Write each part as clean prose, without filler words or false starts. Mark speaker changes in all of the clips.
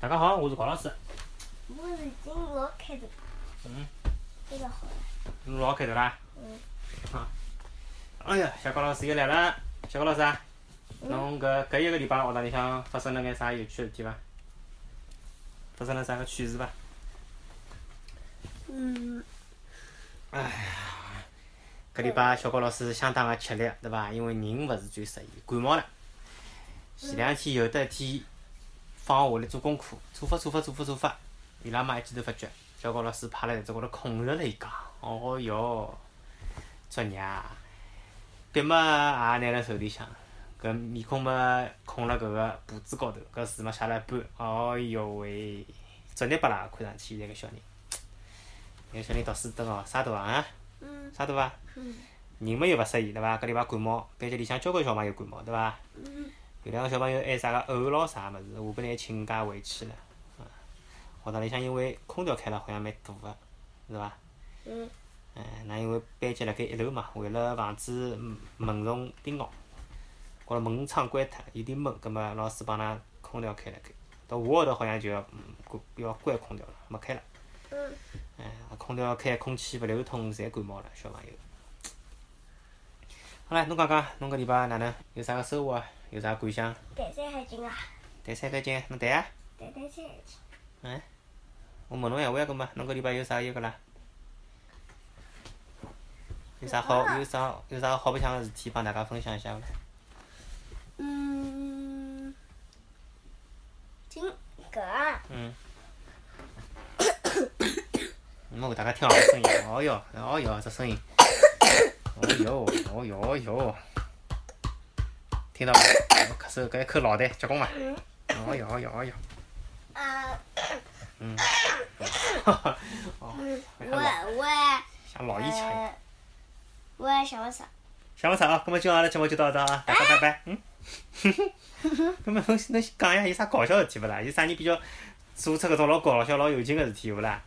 Speaker 1: 大家好，我是高老师。
Speaker 2: 我是金老开头。这个好了。
Speaker 1: 老开头啦。哎呀，小高老师又来了。小高老师啊，侬搿一个礼拜学堂里向发生了眼啥有趣的事体伐？发生了啥个趣事伐？哎呀，搿礼拜小高老师相当的吃力，对伐？因为人勿是最适宜，感冒了。前两天有得一天放学下来做功课，做法，伊拉妈一记头发觉，小高老师趴辣台子高头困着了伊讲，哦哟，作业笔嘛也拿辣手里向，搿面孔嘛困辣搿个簿子高头，搿字嘛写了一半，哦哟喂，作业本啦，看上去现在搿小人，搿小人读书真哦，啥大啊？啥大啊？人嘛又勿适宜对伐？搿礼拜感冒，班级里向交关小朋友感冒对伐？有两个小朋友还啥个呕咯啥物事，下半日请假回去了。学堂里向因为空调开了好像蛮大个，是伐？那因为班级辣盖1楼嘛，为了防止蚊虫叮咬，高头门窗关脱，有点闷，葛末老师帮㑚空调开辣盖。到下个号头好像就要关空调了，没开了。空调开，空气勿流通，侪感冒了，小朋友。好唻，侬讲讲，侬搿礼拜哪能？有啥个收获啊？有啥感想？
Speaker 2: 谈山海经啊。
Speaker 1: 谈山海经，侬谈啊？
Speaker 2: 谈山海经。
Speaker 1: 我问侬闲话呀，搿么侬搿礼拜有啥个啦？有啥好白相个事体帮大家分享一下伐？
Speaker 2: 搿啊。
Speaker 1: 侬为大家听好个声音，哦哟，这声音，哦哟，听到伐？咳嗽，搿一口老痰结棍伐？哦哟。
Speaker 2: 我
Speaker 1: 像老烟枪一样。
Speaker 2: 我也想勿出。
Speaker 1: 想勿出啊？搿么今朝阿拉节目就到这啊，大家拜拜。搿么侬讲呀，有啥搞笑事体勿啦？有啥人比较做出搿种老搞笑、老有劲个事体有勿啦？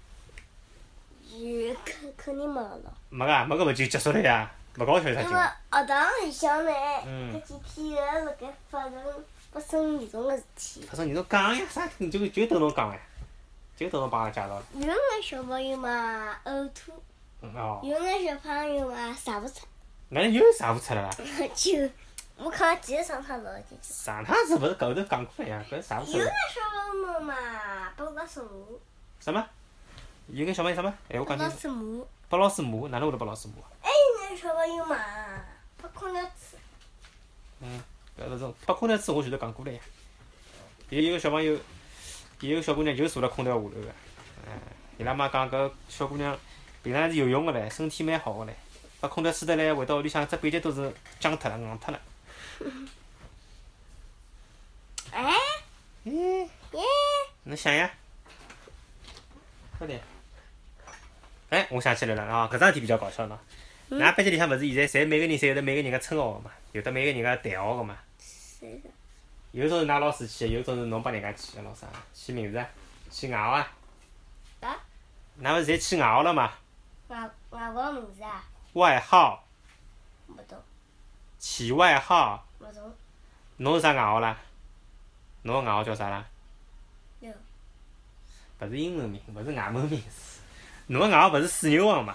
Speaker 2: 肯定没了。
Speaker 1: 没个，搿么就结束了呀？勿搞笑有啥劲？
Speaker 2: 因为学堂里向呢，搿几天一直辣盖发生严重个事体。
Speaker 1: 发生严重讲呀，啥就等侬讲呀，就等侬帮阿拉介绍了。
Speaker 2: 有眼小朋友嘛呕吐。有眼小朋友嘛查勿出。
Speaker 1: 哪能又查勿出了啦？
Speaker 2: 就我看记得上趟老进去。
Speaker 1: 上趟子勿是后头讲过了呀？搿查勿出。
Speaker 2: 有眼小朋友嘛拨老师骂。
Speaker 1: 什么？有眼小朋友什么？我讲清楚。
Speaker 2: 拨老师骂。
Speaker 1: 拨老师骂？哪能会得拨老师骂？
Speaker 2: 还有眼小朋友嘛拨空调吹。
Speaker 1: 搿种拨空调吹我前头讲过了呀。有一个小朋友，有一个小姑娘就坐辣空调下头个。伊拉妈讲搿小姑娘平常是游泳个唻，身体蛮好个唻。把空调吹得来，回到屋里向，只背脊都是僵脱了、硬脱了。侬想呀？快点！我想起来了啊，搿桩事体比较搞笑喏。㑚班级里向勿是现在侪每个人侪有得每个人个称号个嘛，有得每个人个代号个嘛。有种是㑚老师起个，有种是侬帮人家起个，老师起名字啊，起外号啊。㑚勿是侪起外号了嘛？
Speaker 2: 外号名字啊？
Speaker 1: 外号。
Speaker 2: 勿懂。
Speaker 1: 起外号。
Speaker 2: 勿懂。
Speaker 1: 侬是啥外号啦？侬个外号叫啥啦？勿是英文名，勿是外文名字。侬个外号勿是水牛王嘛？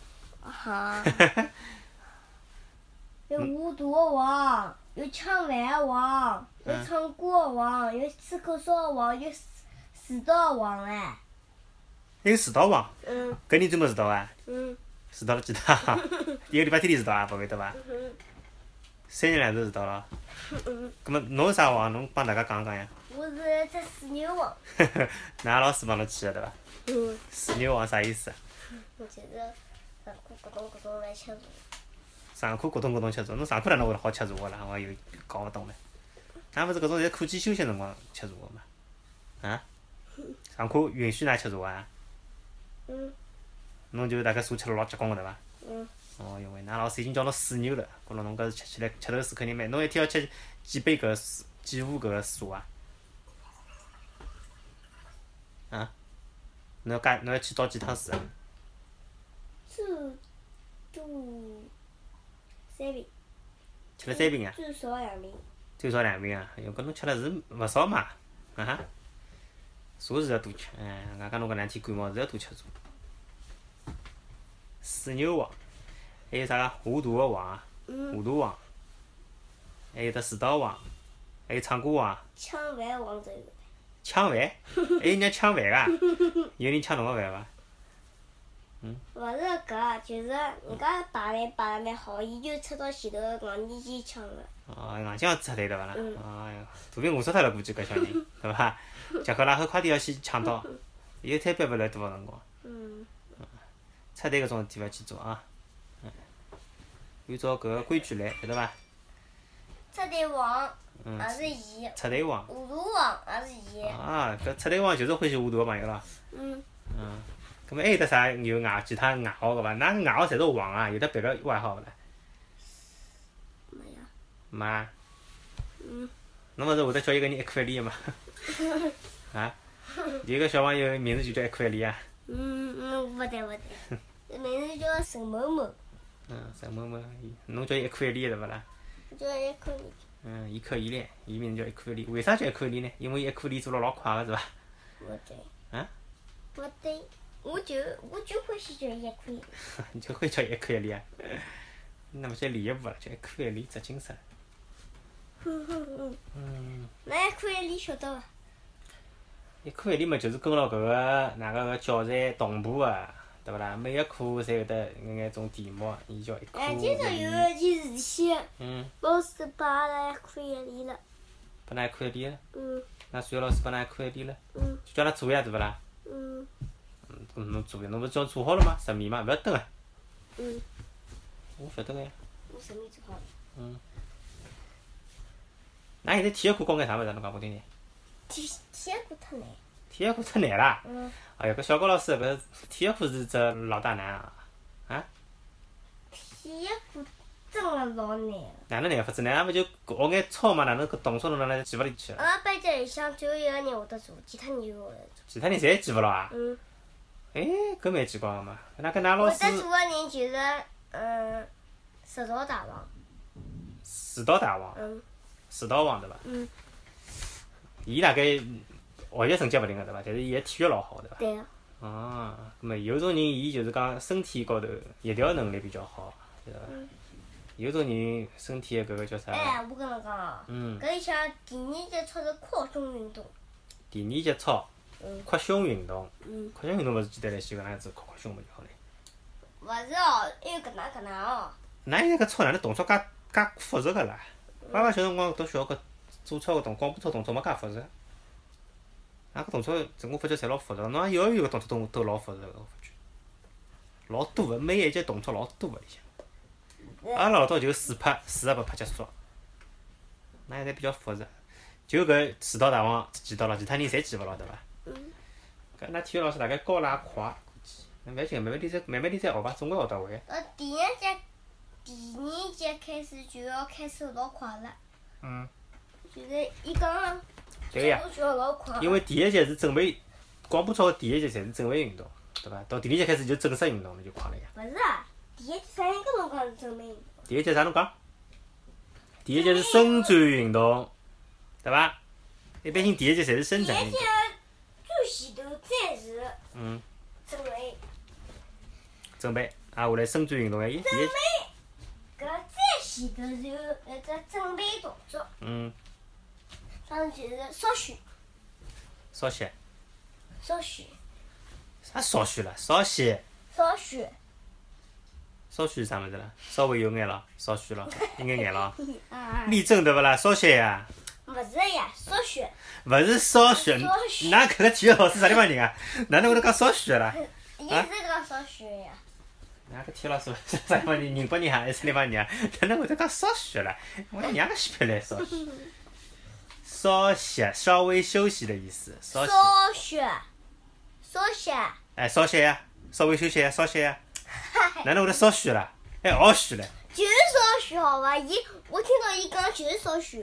Speaker 2: 有无毒王，有抢饭王，有唱歌王，有吃口哨王，有迟到王唻。
Speaker 1: 还有迟到王？搿人专门迟到啊？迟到了几趟？一个礼拜天天迟到啊？勿会得伐？3日2头迟到了。葛末侬是啥王？侬帮大家讲讲呀。
Speaker 2: 我是只水牛王。
Speaker 1: 㑚老师帮侬起个对伐？水牛王啥意思？
Speaker 2: 就是上课咕咚咕咚来吃茶。
Speaker 1: 上课咕咚咕咚吃茶，侬上课哪能会得好吃茶个啦？我又搞勿懂唻。㑚勿是搿种侪课间休息辰光吃茶个嘛？上课允许㑚吃茶啊？侬就大概茶吃了老结棍个对伐？哦哟喂，㑚老师已经叫侬水牛了，觉着侬搿是吃起来吃头水肯定蛮，侬一天要吃几杯搿个水，几壶搿个茶啊？侬要去倒几趟水啊？
Speaker 2: 3瓶。
Speaker 1: 吃了3瓶啊？
Speaker 2: 最少2瓶。
Speaker 1: 最少2瓶啊？哟，搿侬吃了是勿少嘛？ 茶是要多吃，外加侬搿两天感冒是要多吃茶。水牛黄，还有啥个华佗个黄，华佗黄，还有得树刀黄，还有唱歌黄。
Speaker 2: 抢饭黄都有。
Speaker 1: 抢饭？还有人抢饭个？有人抢侬个饭伐？
Speaker 2: 勿是搿，就是人家摆来蛮好，伊就出到前头硬年纪抢个。
Speaker 1: 哦，硬劲要出来对伐啦？哎哟，肚皮饿死脱了，估计搿小人，对伐？吃口拉后快点要先抢到，有摊班勿来多少辰光。出队搿种事体勿要去做啊。按照搿个规矩来，晓得伐？
Speaker 2: 出队王也是伊。
Speaker 1: 出队王。
Speaker 2: 糊涂王也是伊。
Speaker 1: 啊，搿出队王就是欢喜糊涂个朋友咯。葛末还有得啥有其他外号个伐？㑚个外号侪是王啊，有得别个外号勿啦？
Speaker 2: 没呀。
Speaker 1: 没啊。侬勿是会得叫一个人一块里个嘛？啊？有个小朋友名字就叫一块里啊。
Speaker 2: 勿对，名字叫陈某某。
Speaker 1: 陈某某，侬叫伊一块里对勿啦？
Speaker 2: 我叫一块里。
Speaker 1: 伊可以唻，伊名字叫一块里，为啥叫一块里呢？因为伊一块里做了老快个是伐？
Speaker 2: 勿对。
Speaker 1: 啊？
Speaker 2: 勿对，我就欢喜叫伊一块里。
Speaker 1: 你就会叫一块里啊？那么叫李一步了，叫一块里扎精神。
Speaker 2: 那一块里晓得伐？
Speaker 1: 一块里嘛，就是跟牢搿个哪个个教材同步个，对勿啦？每一科侪有得眼种题目，伊叫一科里。
Speaker 2: 今朝有一件事体，老师把阿拉一块里了。
Speaker 1: 拨㑚一块里了？那数学老师拨㑚一块里了？就叫㑚做呀，对勿啦？侬做呀，侬勿是叫做好了吗？10面嘛，勿要等个。我晓得个呀。
Speaker 2: 我10面做好了。
Speaker 1: 㑚现在体育课教眼啥物事？侬讲拨我听听。
Speaker 2: 体育课忒难。
Speaker 1: 体育课忒难啦！哎哟，搿小高老师搿体育课是只老大难啊！啊？
Speaker 2: 体育课真个老难个。
Speaker 1: 哪能难法子呢？勿就学眼操嘛？哪能搿动作侬哪能记勿里去？
Speaker 2: 阿拉班级里向只有一个人会得做，其他人勿会得做。
Speaker 1: 其他人侪记勿牢啊？哎，搿蛮奇怪个嘛！那跟㑚老师。
Speaker 2: 会得做个人就是石道大王。
Speaker 1: 树道大王。树道王对伐？伊大概学习成绩勿灵个对伐？但是伊个体育老好对伐？
Speaker 2: 对个。
Speaker 1: 哦，葛末有种人伊就是讲身体高头协调能力比较好，晓得伐？有种人身体个搿个叫啥？
Speaker 2: 哎，我跟侬讲哦，搿里向第2节操是扩胸运动。
Speaker 1: 第2节操，扩胸运动。扩胸运动勿是简单来些搿能样子扩胸嘛就好了。
Speaker 2: 勿是哦，还有搿能哦。
Speaker 1: 㑚现在搿操哪能动作介复杂个啦？爸爸小辰光读小学搿做操个广播操动作没介复杂。搿动作我发觉侪老复杂，侬幼儿园个动作都老复杂个，我发觉。老多个，每一节动作老多个里向。阿拉老早就4拍8拍结束。㑚现在比较复杂，就搿树道大王记到了，其他人侪记勿牢对伐？搿㑚体育老师大概教了也快，估计。勿要紧，慢慢点再学伐，总归学得会。
Speaker 2: 第2节开始就要开始老快了。就是伊讲。
Speaker 1: 对个呀。因为第1节是准备，广播操个第1节侪是准备运动，对伐？到第2节开始就正式运动了，就快了呀。
Speaker 2: 勿是啊，第1节啥人跟侬讲是准备运动？
Speaker 1: 第1节啥侬讲？第1节是伸展运动，对伐？一般性第1节侪是伸展运动。
Speaker 2: 第1节最前头才是。准备。
Speaker 1: 准备，下来伸展运动哎，第1节。
Speaker 2: 搿再前头是有一只准备动作。上就是少许。
Speaker 1: 少许。
Speaker 2: 少许。
Speaker 1: 啥少许啦？少许。
Speaker 2: 少许。
Speaker 1: 少许是啥物事啦？稍微有眼咯，少许咯，一眼眼咯。立正对勿啦？少许呀。
Speaker 2: 勿是呀，少许。
Speaker 1: 勿是少许，㑚搿个体育老师啥地方人啊？哪能会得讲少许啦？
Speaker 2: 伊是讲少许呀。
Speaker 1: 㑚个体育老师啥地方人？宁波人还是啥地方人啊？哪能会得讲少许啦？我娘个西皮来少许。稍息，稍微休息的意思。稍息。
Speaker 2: 稍息。
Speaker 1: 哎，稍息呀，稍微休息呀，稍息呀。哪能会得稍许啦？还少许唻。
Speaker 2: 就是少许好伐？我听到伊讲就是少许。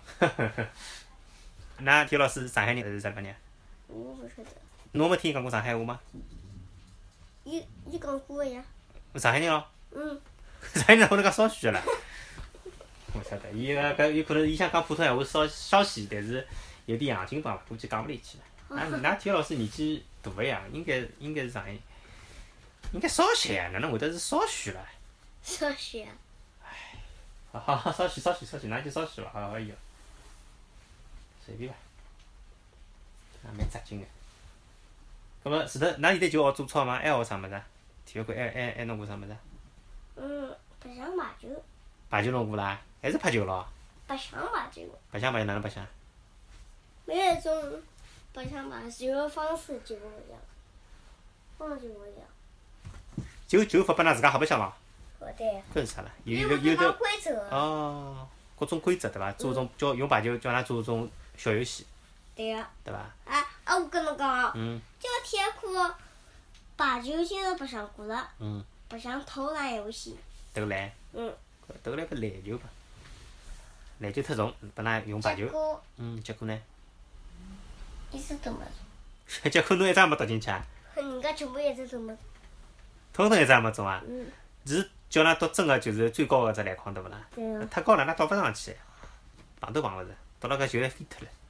Speaker 1: 㑚体育老师是上海人还是啥地方人？
Speaker 2: 我勿晓得。
Speaker 1: 侬没听伊讲过上海话吗？
Speaker 2: 伊讲过个呀。
Speaker 1: 上海人咯。上海人哪会得讲少许啦？我晓得，伊搿有可能伊想讲普通闲话稍许，但是有点洋泾浜，估计讲勿里去了。 㑚体育老师年纪大个呀，应该是上一，应该少些呀，哪能会得是少许了？
Speaker 2: 少许。
Speaker 1: 好，少许，㑚就少许伐？可以个，随便伐，也蛮扎劲个。葛末前头㑚现在就学做操吗？还学啥物事？体育课还弄过啥物事？
Speaker 2: 白相排球。
Speaker 1: 排球弄过啦？还是拍球咯？
Speaker 2: 白相排球。
Speaker 1: 白相哪能白相？
Speaker 2: 每一种白相排球的方式就勿一样，方式勿一样。
Speaker 1: 球发拨㑚自家瞎白相咯？
Speaker 2: 对。
Speaker 1: 搿是啥啦？
Speaker 2: 有
Speaker 1: 的
Speaker 2: 规则。
Speaker 1: 哦，各种规则对伐？做种用排球叫㑚做种小游戏。
Speaker 2: 对个。
Speaker 1: 对伐？
Speaker 2: 我跟侬讲
Speaker 1: 嗯。
Speaker 2: 这个体育课排球今朝白相过了。
Speaker 1: 嗯。
Speaker 2: 白相投篮游戏。
Speaker 1: 投篮。投篮搿篮球吧。篮球太重，拨㑚用排球。结果呢？
Speaker 2: 一直都没中。
Speaker 1: 结果侬一只也没投进去啊？
Speaker 2: 人家全部一直都没中。
Speaker 1: 统统一只也没中啊？是叫㑚夺真个就是最高个只篮筐对勿啦？
Speaker 2: 对个。
Speaker 1: 太高了，㑚倒勿上去，碰都碰勿着，倒辣搿球来飞脱了。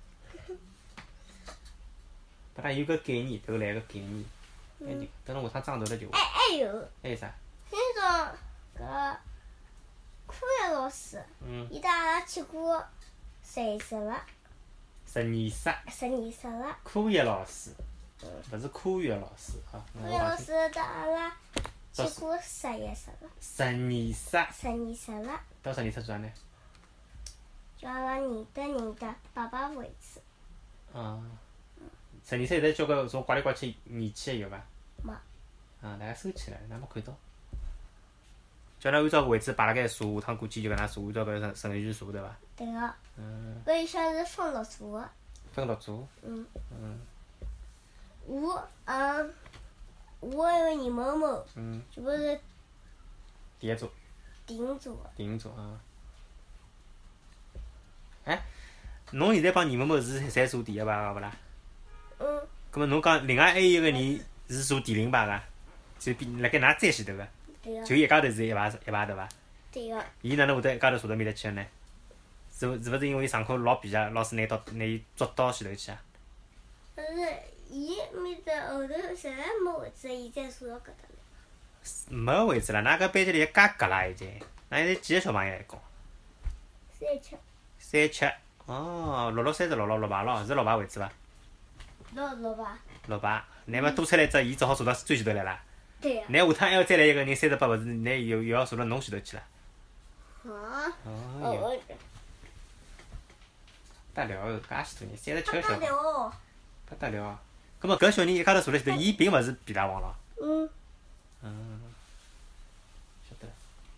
Speaker 1: 拨㑚有搿概念，投篮个概念。等侬下趟长大了就会。
Speaker 2: 还有。
Speaker 1: 还有啥？
Speaker 2: 今朝搿科学老师，伊带阿拉去过实验室了。
Speaker 1: 实验室。
Speaker 2: 实验室了。
Speaker 1: 科学老师。勿是科学老师啊。
Speaker 2: 科学老师带阿拉去过实验室了。
Speaker 1: 实验室。
Speaker 2: 实验室了。
Speaker 1: 到实验室做啥呢？
Speaker 2: 叫阿拉认得摆摆位置。
Speaker 1: 实验室现在交关种挂来挂去仪器有伐？
Speaker 2: 没。
Speaker 1: 大家收起来，㑚没看到。叫㑚按照位置摆辣盖坐，下趟过去就搿能坐，按照搿顺序坐对伐？
Speaker 2: 对个。搿里向是分6组个。
Speaker 1: 分6组。
Speaker 2: 我还有严某某。全部是。
Speaker 1: 第一组。
Speaker 2: 第5组个。
Speaker 1: 第5组侬现在帮严某某是侪坐第1排个勿啦？葛末侬讲另外还有一个人是坐第0排个，就辣盖㑚再前头个。
Speaker 2: 对个。
Speaker 1: 就一家头是一排对伐？
Speaker 2: 对个。
Speaker 1: 伊哪能会得一家头坐到面搭去个呢？是勿是因为伊上课老皮啊？老师拿伊捉到前头去啊？
Speaker 2: 但是伊面搭后头实在没位置，伊才坐到搿搭来。
Speaker 1: 没位置了，㑚搿班级里介隔啦已经。㑚现在几个小朋友一共
Speaker 2: ？37。
Speaker 1: 37。6636排咯，是6排位置伐
Speaker 2: 6排。
Speaker 1: 6排，乃末多出来只，伊只好坐到最前头来啦。
Speaker 2: 对个。
Speaker 1: 乃下趟还要再来一个人38，勿是乃又要坐到侬前头去了。得了，介许多人，37个小朋友。不得了。葛末搿小人一家头坐辣前头，伊并勿是皮大王咯。晓得了。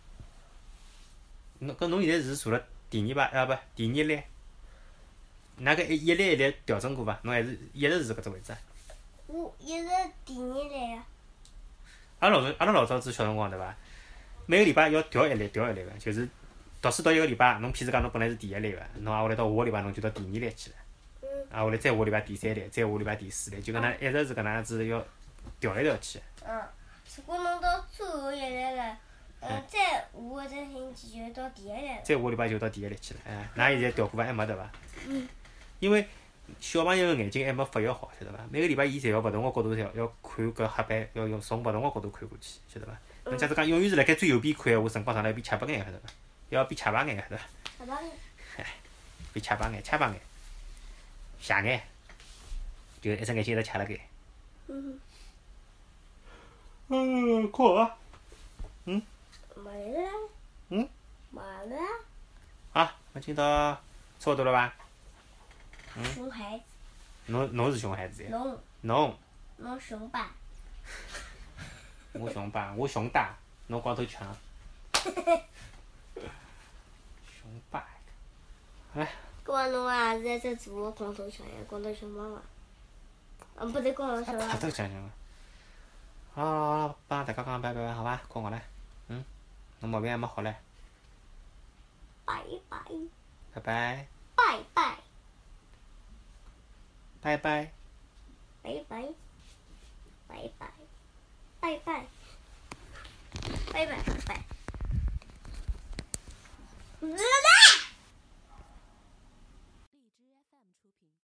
Speaker 1: 侬现在是坐辣第2排不？第2列。㑚搿一列一列调整过伐？侬还是一直是搿只位置？
Speaker 2: 我一直第2列个。
Speaker 1: 阿拉老早子小辰光对伐？每个礼拜要调一列个，就是读书读一个礼拜，侬譬如讲侬本来是第1列个，侬挨下来到下个礼拜侬就到第2列去了。挨下来再下个礼拜第3列，再下个礼拜第4列，就搿能一直是搿能样子要调来调去。
Speaker 2: 如果侬到最后一列了，再下个星期就到第1列了。
Speaker 1: 再下个礼拜就到第1列去了，㑚现在调过伐？还没对伐？因为小朋友个眼睛还没发育好，晓得伐？每个礼拜伊侪要勿同个角度要看搿黑板，要从勿同个角度看过去，晓得伐？侬假使讲永远是辣盖最右边看闲话，辰光长了变赤白眼，晓得伐？要变赤白眼，晓得伐？
Speaker 2: 赤白眼。
Speaker 1: 变赤白眼，斜眼，就一只眼睛一直赤辣盖。困啊！
Speaker 2: 没了。没了。
Speaker 1: 好，我今朝差勿多了伐？
Speaker 2: 熊孩子。
Speaker 1: 侬是熊孩子呀？
Speaker 2: 侬熊爸。
Speaker 1: 我熊爸，我熊大，侬光头强。熊爸。来。
Speaker 2: 搿么侬也是一只大个光头强呀，光头强妈妈。不对，光头强。
Speaker 1: 光头强强个。好，帮大家讲拜拜，好伐？困觉唻。侬毛病还没好唻。
Speaker 2: 拜拜。
Speaker 1: 拜拜。
Speaker 2: 拜拜。
Speaker 1: 拜拜。
Speaker 2: 拜拜。拜拜。拜拜。拜拜拜拜。